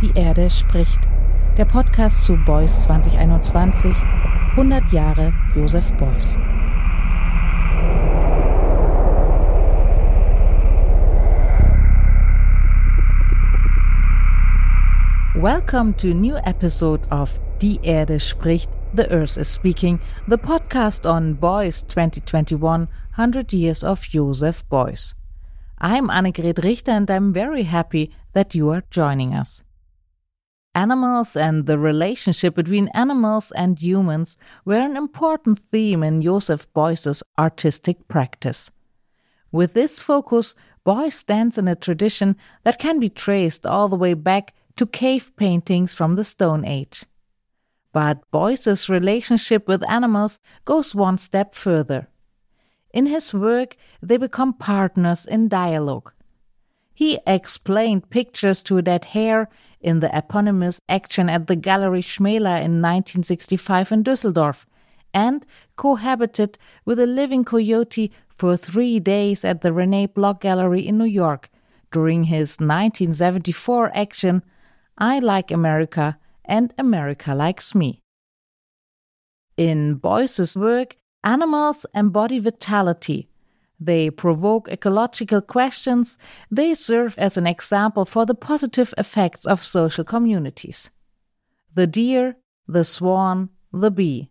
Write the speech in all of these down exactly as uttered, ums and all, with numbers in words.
Die Erde spricht. Der Podcast zu Beuys zwanzig einundzwanzig. hundert Jahre Joseph Beuys. Welcome to a new episode of Die Erde spricht. The Earth is Speaking, the podcast on Beuys twenty twenty-one, one hundred years of Joseph Beuys. I'm Annegret Richter and I'm very happy that you are joining us. Animals and the relationship between animals and humans were an important theme in Joseph Beuys's artistic practice. With this focus, Beuys stands in a tradition that can be traced all the way back to cave paintings from the Stone Age. But Beuys's relationship with animals goes one step further. In his work, they become partners in dialogue. He explained pictures to a dead hare in the eponymous action at the Galerie Schmäler in nineteen sixty-five in Düsseldorf, and cohabited with a living coyote for three days at the René Block Gallery in New York during his nineteen seventy-four action I Like America and America Likes Me. In Beuys's work, animals embody vitality. They provoke ecological questions. They serve as an example for the positive effects of social communities. The deer, the swan, the bee.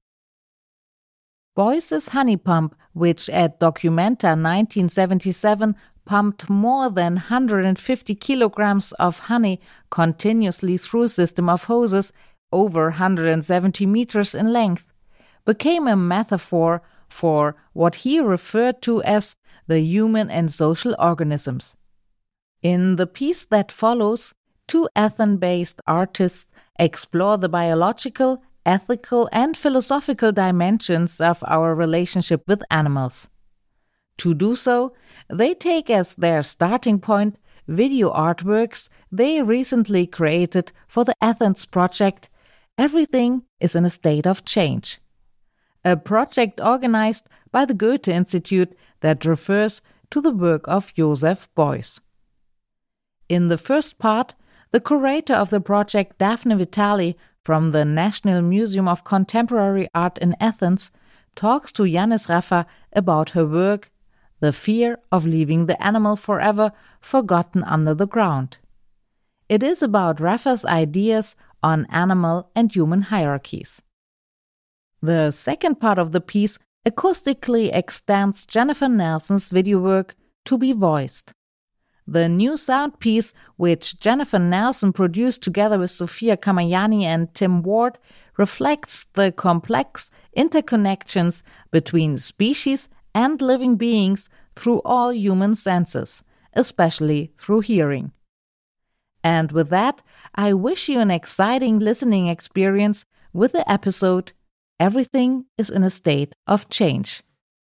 Beuys's honey pump, which at Documenta nineteen seventy-seven pumped more than one hundred fifty kilograms of honey continuously through a system of hoses over one hundred seventy meters in length, became a metaphor for what he referred to as the human and social organisms. In the piece that follows, two Athens-based artists explore the biological, ethical, and philosophical dimensions of our relationship with animals. To do so, they take as their starting point video artworks they recently created for the Athens project Everything is in a State of Change, a project organized by the Goethe Institute that refers to the work of Joseph Beuys. In the first part, the curator of the project, Daphne Vitali, from the National Museum of Contemporary Art in Athens, talks to Yanis Raffa about her work, The Fear of Leaving the Animal Forever Forgotten Under the Ground. It is about Raffa's ideas on animal and human hierarchies. The second part of the piece acoustically extends Jennifer Nelson's video work, To Be Voiced. The new sound piece, which Jennifer Nelson produced together with Sophia Kamayani and Tim Ward, reflects the complex interconnections between species and living beings through all human senses, especially through hearing. And with that, I wish you an exciting listening experience with the episode Everything is in a State of Change.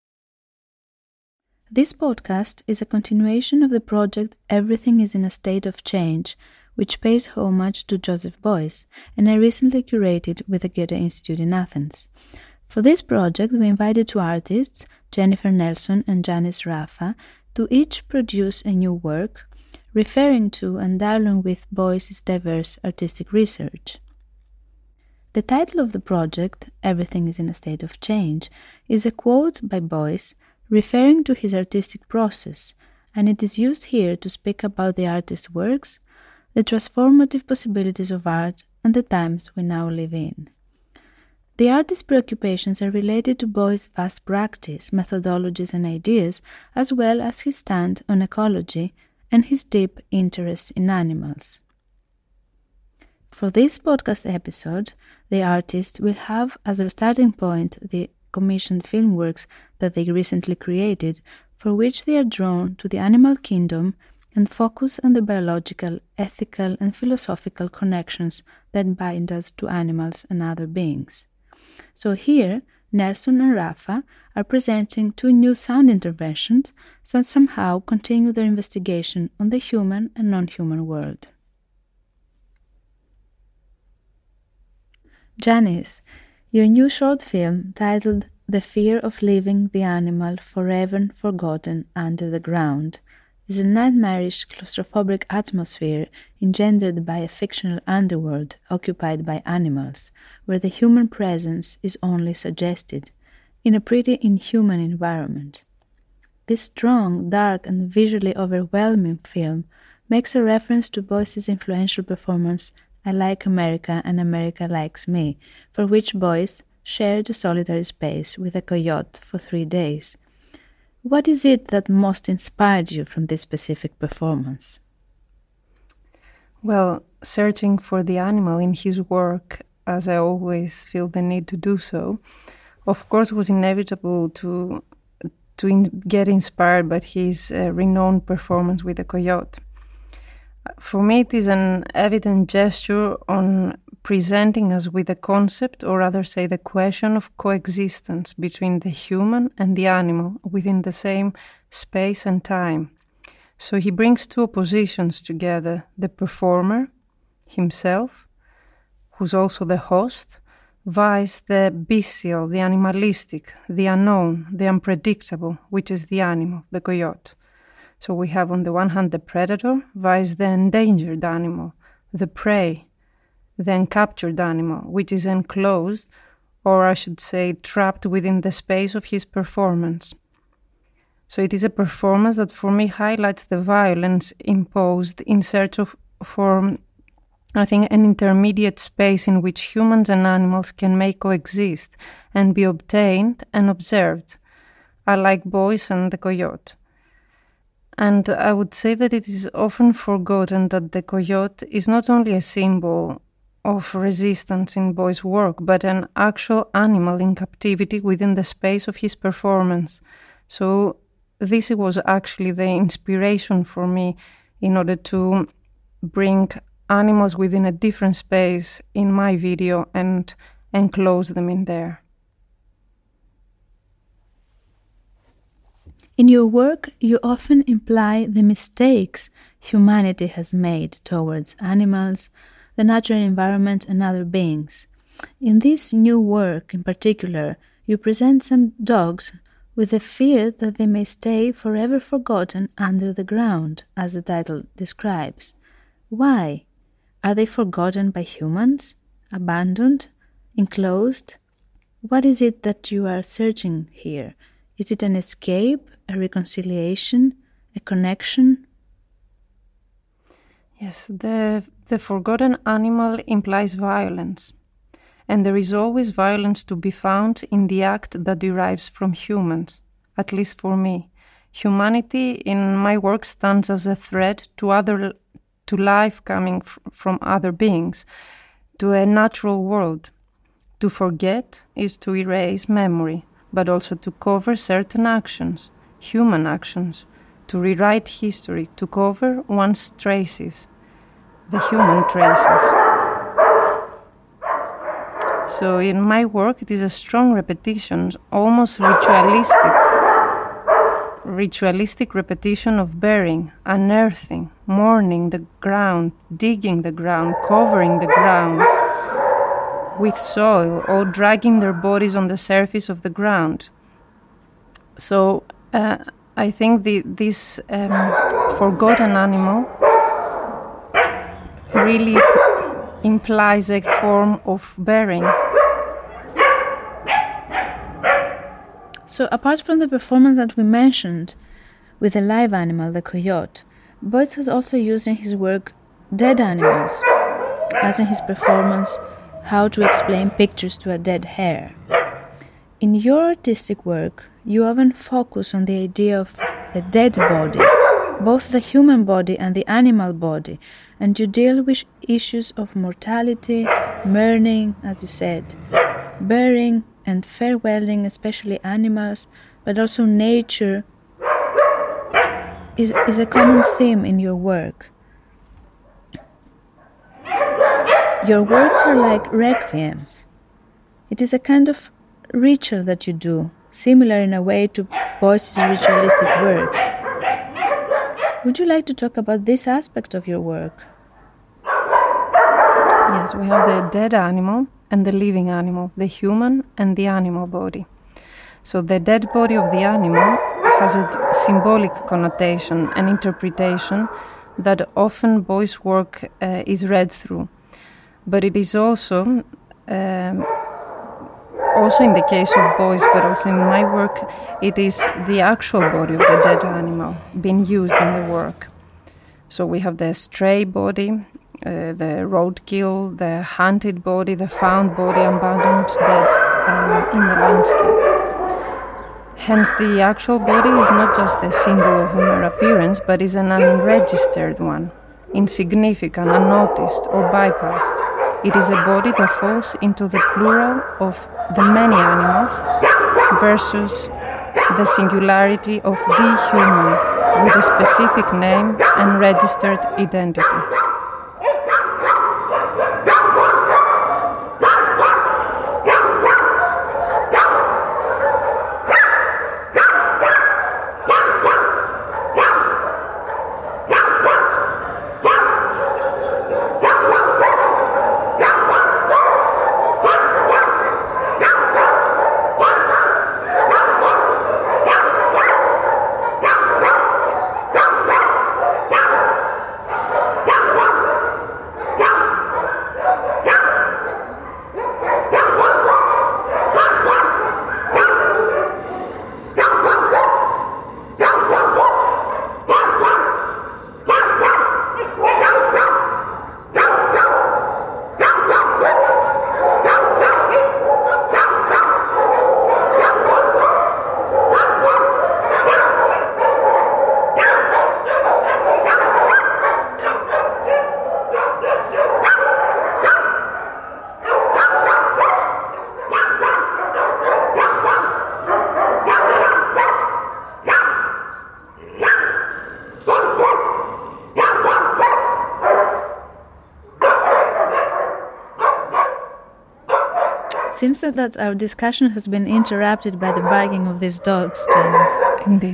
This podcast is a continuation of the project Everything is in a State of Change, which pays homage to Joseph Beuys, and I recently curated with the Goethe Institute in Athens. For this project, we invited two artists, Jennifer Nelson and Yanis Raffa, to each produce a new work, referring to and dialoguing with Beuys's diverse artistic research. The title of the project, Everything is in a State of Change, is a quote by Beuys referring to his artistic process, and it is used here to speak about the artist's works, the transformative possibilities of art, and the times we now live in. The artist's preoccupations are related to Beuys' vast practice, methodologies, and ideas, as well as his stand on ecology and his deep interest in animals. For this podcast episode, the artist will have as a starting point the commissioned film works that they recently created, for which they are drawn to the animal kingdom and focus on the biological, ethical, and philosophical connections that bind us to animals and other beings. So here, Nelson and Raffa are presenting two new sound interventions that somehow continue their investigation on the human and non-human world. Yanis, your new short film titled The Fear of Leaving the Animal Forever Forgotten Under the Ground is a nightmarish claustrophobic atmosphere engendered by a fictional underworld occupied by animals, where the human presence is only suggested, in a pretty inhuman environment. This strong, dark, and visually overwhelming film makes a reference to Boyce's influential performance I Like America and America Likes Me, for which Boyce shared a solitary space with a coyote for three days. What is it that most inspired you from this specific performance? Well, searching for the animal in his work, as I always feel the need to do so, of course was inevitable to to in, get inspired by his uh, renowned performance with the coyote. For me, it is an evident gesture on presenting us with a concept, or rather say the question of coexistence between the human and the animal within the same space and time. So he brings two oppositions together, the performer, himself, who's also the host, vice the bestial, the animalistic, the unknown, the unpredictable, which is the animal, the coyote. So we have on the one hand the predator, vice the endangered animal, the prey, the uncaptured animal, which is enclosed, or I should say trapped within the space of his performance. So it is a performance that for me highlights the violence imposed in search of for, I think, an intermediate space in which humans and animals can make coexist and be obtained and observed. I like Boyce and the coyote. And I would say that it is often forgotten that the coyote is not only a symbol of resistance in Boyce's work, but an actual animal in captivity within the space of his performance. So this was actually the inspiration for me in order to bring animals within a different space in my video and enclose them in there. In your work, you often imply the mistakes humanity has made towards animals, the natural environment, and other beings. In this new work in particular, you present some dogs with the fear that they may stay forever forgotten under the ground, as the title describes. Why? Are they forgotten by humans? Abandoned? Enclosed? What is it that you are searching here? Is it an escape, a reconciliation, a connection? Yes, the, the forgotten animal implies violence. And there is always violence to be found in the act that derives from humans, at least for me. Humanity in my work stands as a threat to other, to life coming f- from other beings, to a natural world. To forget is to erase memory, but also to cover certain actions, human actions, to rewrite history, to cover one's traces, the human traces. So in my work, it is a strong repetition, almost ritualistic, ritualistic repetition of burying, unearthing, mourning the ground, digging the ground, covering the ground with soil, or dragging their bodies on the surface of the ground. So uh, I think the, this um, forgotten animal really implies a form of burying. So apart from the performance that we mentioned with the live animal, the coyote, Boyce has also used in his work dead animals, as in his performance How to Explain Pictures to a Dead Hare. In your artistic work, you often focus on the idea of the dead body, both the human body and the animal body, and you deal with issues of mortality, mourning, as you said, burying and farewelling, especially animals, but also nature is, is a common theme in your work. Your works are like requiems. It is a kind of ritual that you do, similar in a way to Boyce's ritualistic works. Would you like to talk about this aspect of your work? Yes, we have the dead animal and the living animal, the human and the animal body. So the dead body of the animal has a symbolic connotation and interpretation that often boys' work uh, is read through. But it is also, um, also in the case of boys, but also in my work, it is the actual body of the dead animal being used in the work. So we have the stray body, uh, the roadkill, the hunted body, the found body, abandoned dead um, in the landscape. Hence, the actual body is not just a symbol of a mere appearance, but is an unregistered one, insignificant, unnoticed, or bypassed. It is a body that falls into the plural of the many animals versus the singularity of the human with a specific name and registered identity. It seems that our discussion has been interrupted by the barking of these dogs, Janis. Indeed.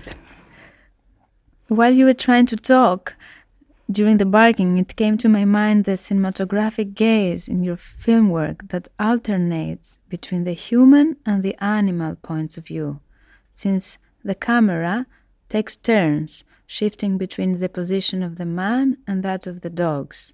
While you were trying to talk, during the barking, it came to my mind the cinematographic gaze in your film work that alternates between the human and the animal points of view, since the camera takes turns, shifting between the position of the man and that of the dogs.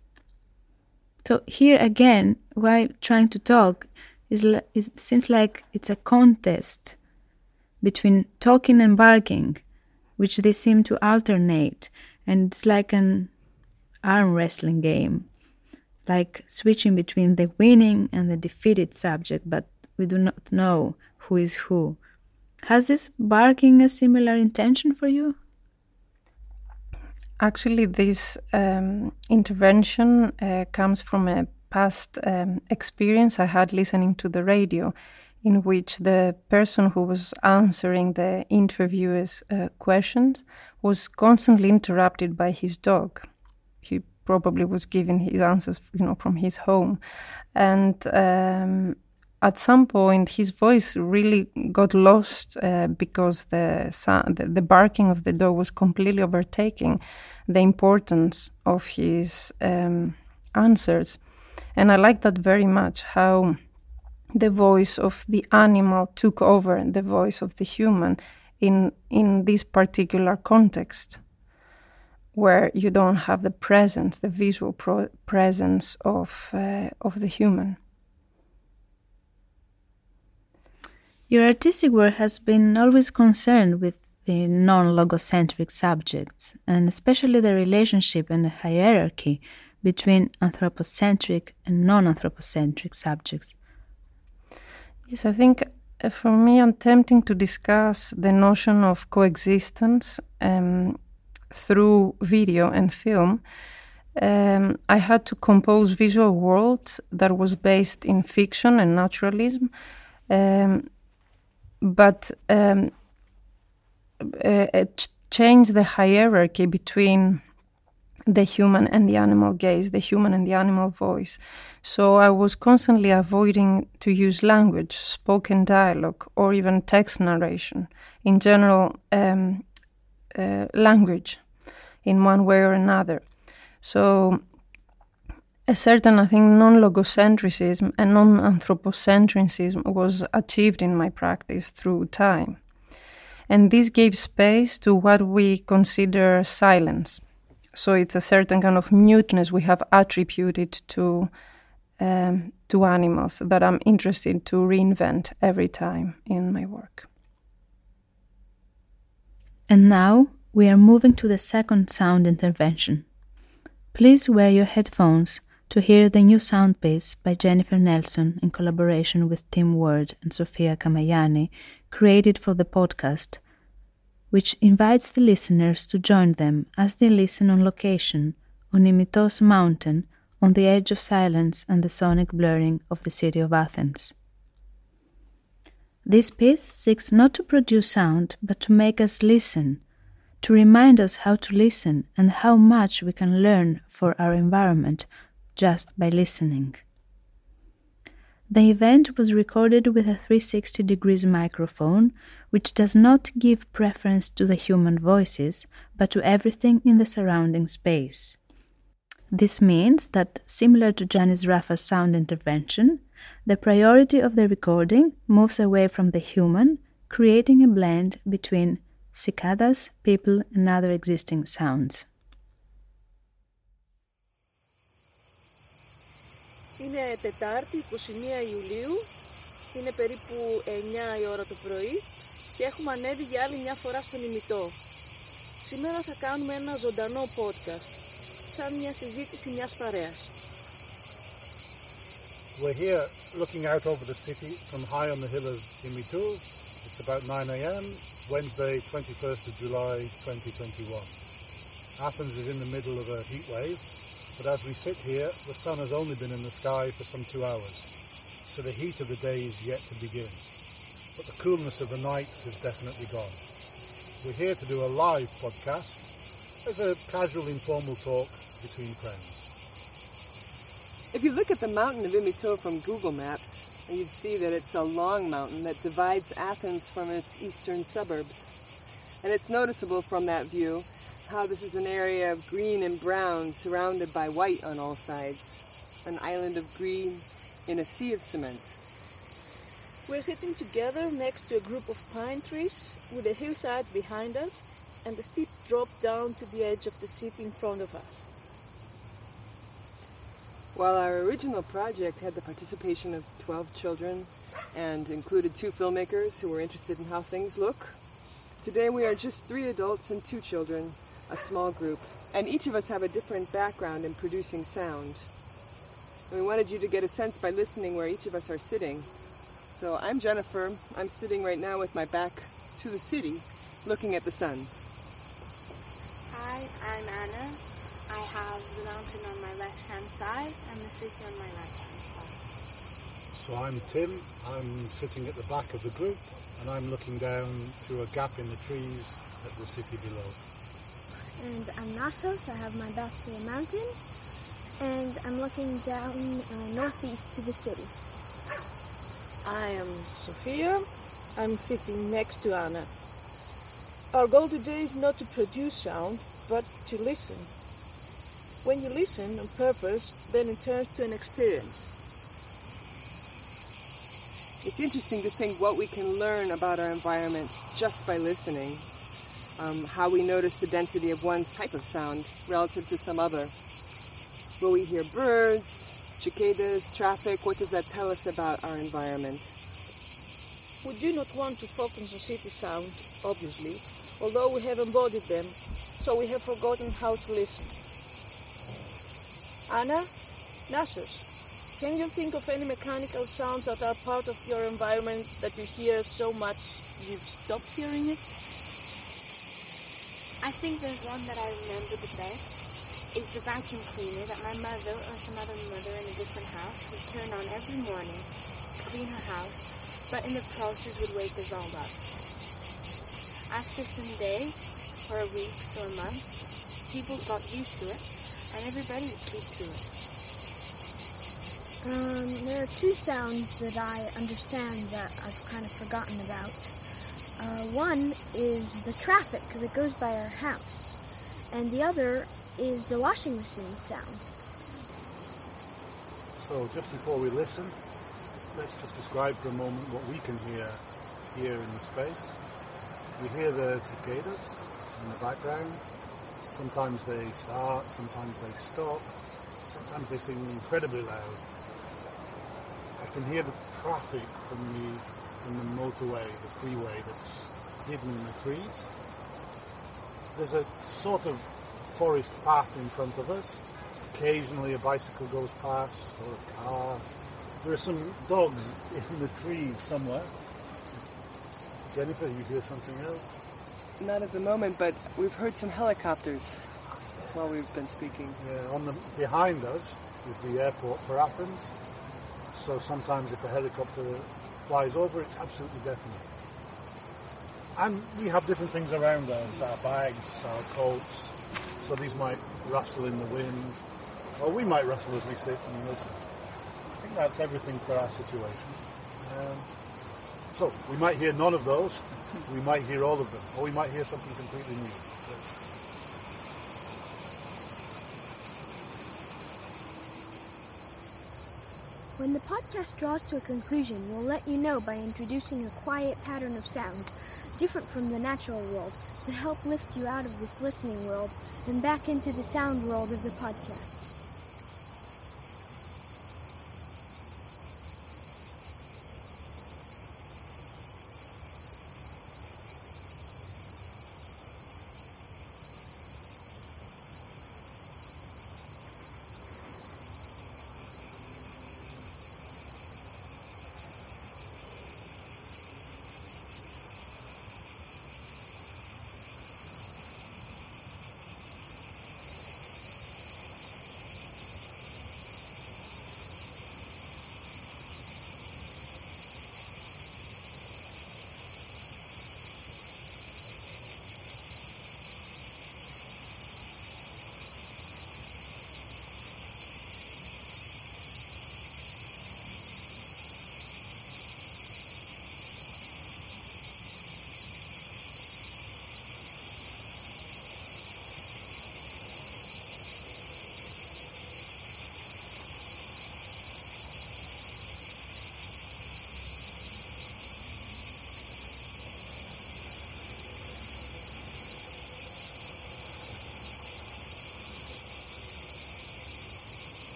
So here again, while trying to talk, it seems like it's a contest between talking and barking, which they seem to alternate, and it's like an arm wrestling game, like switching between the winning and the defeated subject, but we do not know who is who. Has this barking a similar intention for you? Actually, this um, intervention uh, comes from a past um, experience I had listening to the radio, in which the person who was answering the interviewer's uh, questions was constantly interrupted by his dog. He probably was giving his answers, you know, from his home, and um, at some point his voice really got lost uh, because the, sound, the the barking of the dog was completely overtaking the importance of his um, answers. And I like that very much, how the voice of the animal took over the voice of the human in in this particular context, where you don't have the presence, the visual pro- presence of uh, of the human. Your artistic work has been always concerned with the non-logocentric subjects, and especially the relationship and the hierarchy between anthropocentric and non-anthropocentric subjects. Yes, I think uh, for me, I'm attempting to discuss the notion of coexistence um, through video and film. Um, I had to compose visual worlds that was based in fiction and naturalism, um, but um, uh, ch- change the hierarchy between the human and the animal gaze, the human and the animal voice. So I was constantly avoiding to use language, spoken dialogue, or even text narration. In general, um, uh, language in one way or another. So a certain, I think, non-logocentrism and non-anthropocentrism was achieved in my practice through time. and this gave space to what we consider silence. So it's a certain kind of muteness we have attributed to um, to animals that I'm interested to reinvent every time in my work. And now we are moving to the second sound intervention. Please wear your headphones to hear the new sound piece by Jennifer Nelson in collaboration with Tim Ward and Sofia Kamayani, created for the podcast, which invites the listeners to join them as they listen on location on Imitos mountain on the edge of silence and the sonic blurring of the city of Athens. This piece seeks not to produce sound, but to make us listen, to remind us how to listen and how much we can learn for our environment just by listening. The event was recorded with a three sixty degrees microphone, which does not give preference to the human voices, but to everything in the surrounding space. This means that, similar to Janis Raffa's sound intervention, the priority of the recording moves away from the human, creating a blend between cicadas, people, and other existing sounds. Είναι Τετάρτη, εικοστή πρώτη Ιουλίου, είναι περίπου εννιά η ώρα το πρωί και έχουμε ανέβει για άλλη μια φορά στον Ημιτό. Σήμερα θα κάνουμε ένα ζωντανό podcast, σαν μια συζήτηση μιας παρέας. We're here looking out over the city from high on the hill of Imitou. It's about nine a.m., Wednesday, twenty-first of July, twenty twenty-one. Athens is in the middle of a heat wave, but as we sit here, the sun has only been in the sky for some two hours, so the heat of the day is yet to begin. But the coolness of the night is definitely gone. We're here to do a live podcast as a casual, informal talk between friends. If you look at the mountain of Imitou from Google Maps, you'd see that it's a long mountain that divides Athens from its eastern suburbs. And it's noticeable from that view how this is an area of green and brown surrounded by white on all sides, an island of green in a sea of cement. We're sitting together next to a group of pine trees with a hillside behind us and a steep drop down to the edge of the city in front of us. While our original project had the participation of twelve children and included two filmmakers who were interested in how things look, today we are just three adults and two children, a small group, and each of us have a different background in producing sound. And we wanted you to get a sense by listening where each of us are sitting. So I'm Jennifer. I'm sitting right now with my back to the city, looking at the sun. Hi, I'm Anna. I have the mountain on my left-hand side and the city on my right-hand side. So I'm Tim. I'm sitting at the back of the group, and I'm looking down through a gap in the trees at the city below. And I'm Nasos. I have my back to the mountain, and I'm looking down uh, northeast to the city. I am Sofia. I'm sitting next to Anna. Our goal today is not to produce sound, but to listen. When you listen on purpose, then it turns to an experience. It's interesting to think what we can learn about our environment just by listening. Um, how we notice the density of one type of sound relative to some other. Will we hear birds, cicadas, traffic? What does that tell us about our environment? We do not want to focus on city sound, obviously, although we have embodied them, so we have forgotten how to listen. Anna, Nasos, can you think of any mechanical sounds that are part of your environment that you hear so much you've stopped hearing it? I think there's one that I remember the best. It's the vacuum cleaner that my mother or some other mother in a different house would turn on every morning to clean her house, but in the process would wake us all up. After some days, or weeks or months, people got used to it, and everybody would sleep to it. Um, there are two sounds that I understand that I've kind of forgotten about. Uh, one is the traffic, because it goes by our house, and the other is the washing machine sound. So just before we listen, let's just describe for a moment what we can hear here in the space. You hear the cicadas in the background. Sometimes they start, sometimes they stop, sometimes they sing incredibly loud. I can hear the traffic from the, from the motorway, the freeway that's hidden in the trees. There's a sort of forest path in front of us. Occasionally a bicycle goes past, or a car. There are some dogs in the trees somewhere. Jennifer, you hear something else? Not at the moment, but we've heard some helicopters while we've been speaking. Yeah, on the behind us is the airport for Athens. So sometimes if a helicopter flies over, it's absolutely deafening. And we have different things around us, our bags, our coats. So these might rustle in the wind, or we might rustle as we sit and listen. I think that's everything for our situation. Um, so we might hear none of those, we might hear all of them, or we might hear something completely new. When the podcast draws to a conclusion, we'll let you know by introducing a quiet pattern of sound, different from the natural world, to help lift you out of this listening world and back into the sound world of the podcast.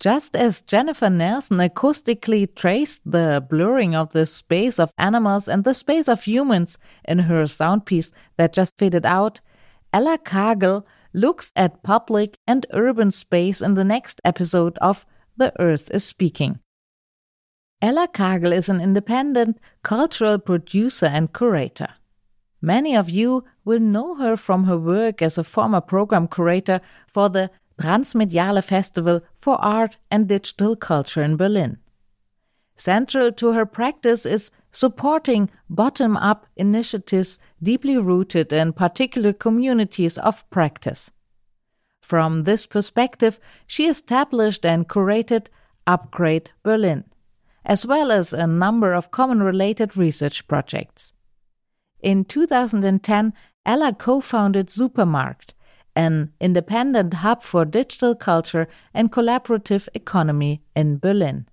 Just as Jennifer Nelson acoustically traced the blurring of the space of animals and the space of humans in her sound piece that just faded out, Ella Kagel looks at public and urban space in the next episode of The Earth is Speaking. Ella Kagel is an independent cultural producer and curator. Many of you will know her from her work as a former program curator for the Transmediale Festival for Art and Digital Culture in Berlin. Central to her practice is supporting bottom-up initiatives deeply rooted in particular communities of practice. From this perspective, she established and curated Upgrade Berlin, as well as a number of common-related research projects. In two thousand ten, Ella co-founded Supermarkt, an independent hub for digital culture and collaborative economy in Berlin.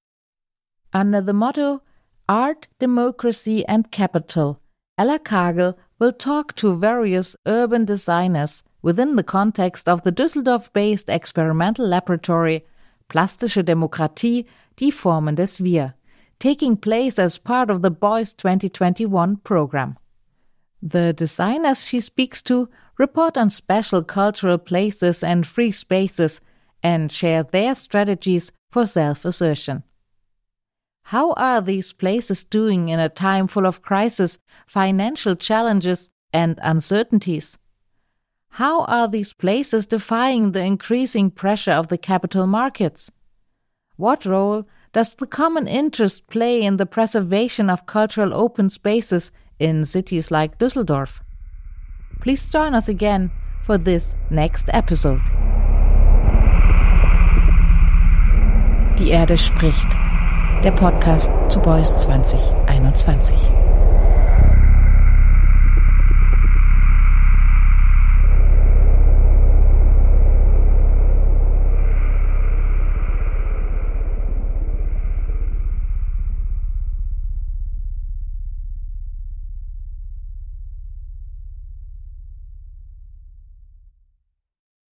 Under the motto Art, Democracy and Capital, Ella Kagel will talk to various urban designers within the context of the Düsseldorf-based experimental laboratory Plastische Demokratie, die Formendes Wir, taking place as part of the Beuys twenty twenty-one program. The designers she speaks to report on special cultural places and free spaces and share their strategies for self-assertion. How are these places doing in a time full of crisis, financial challenges, and uncertainties? How are these places defying the increasing pressure of the capital markets? What role does the common interest play in the preservation of cultural open spaces in cities like Düsseldorf? Please join us again for this next episode. Die Erde spricht. Der Podcast zu Beuys zwanzig einundzwanzig.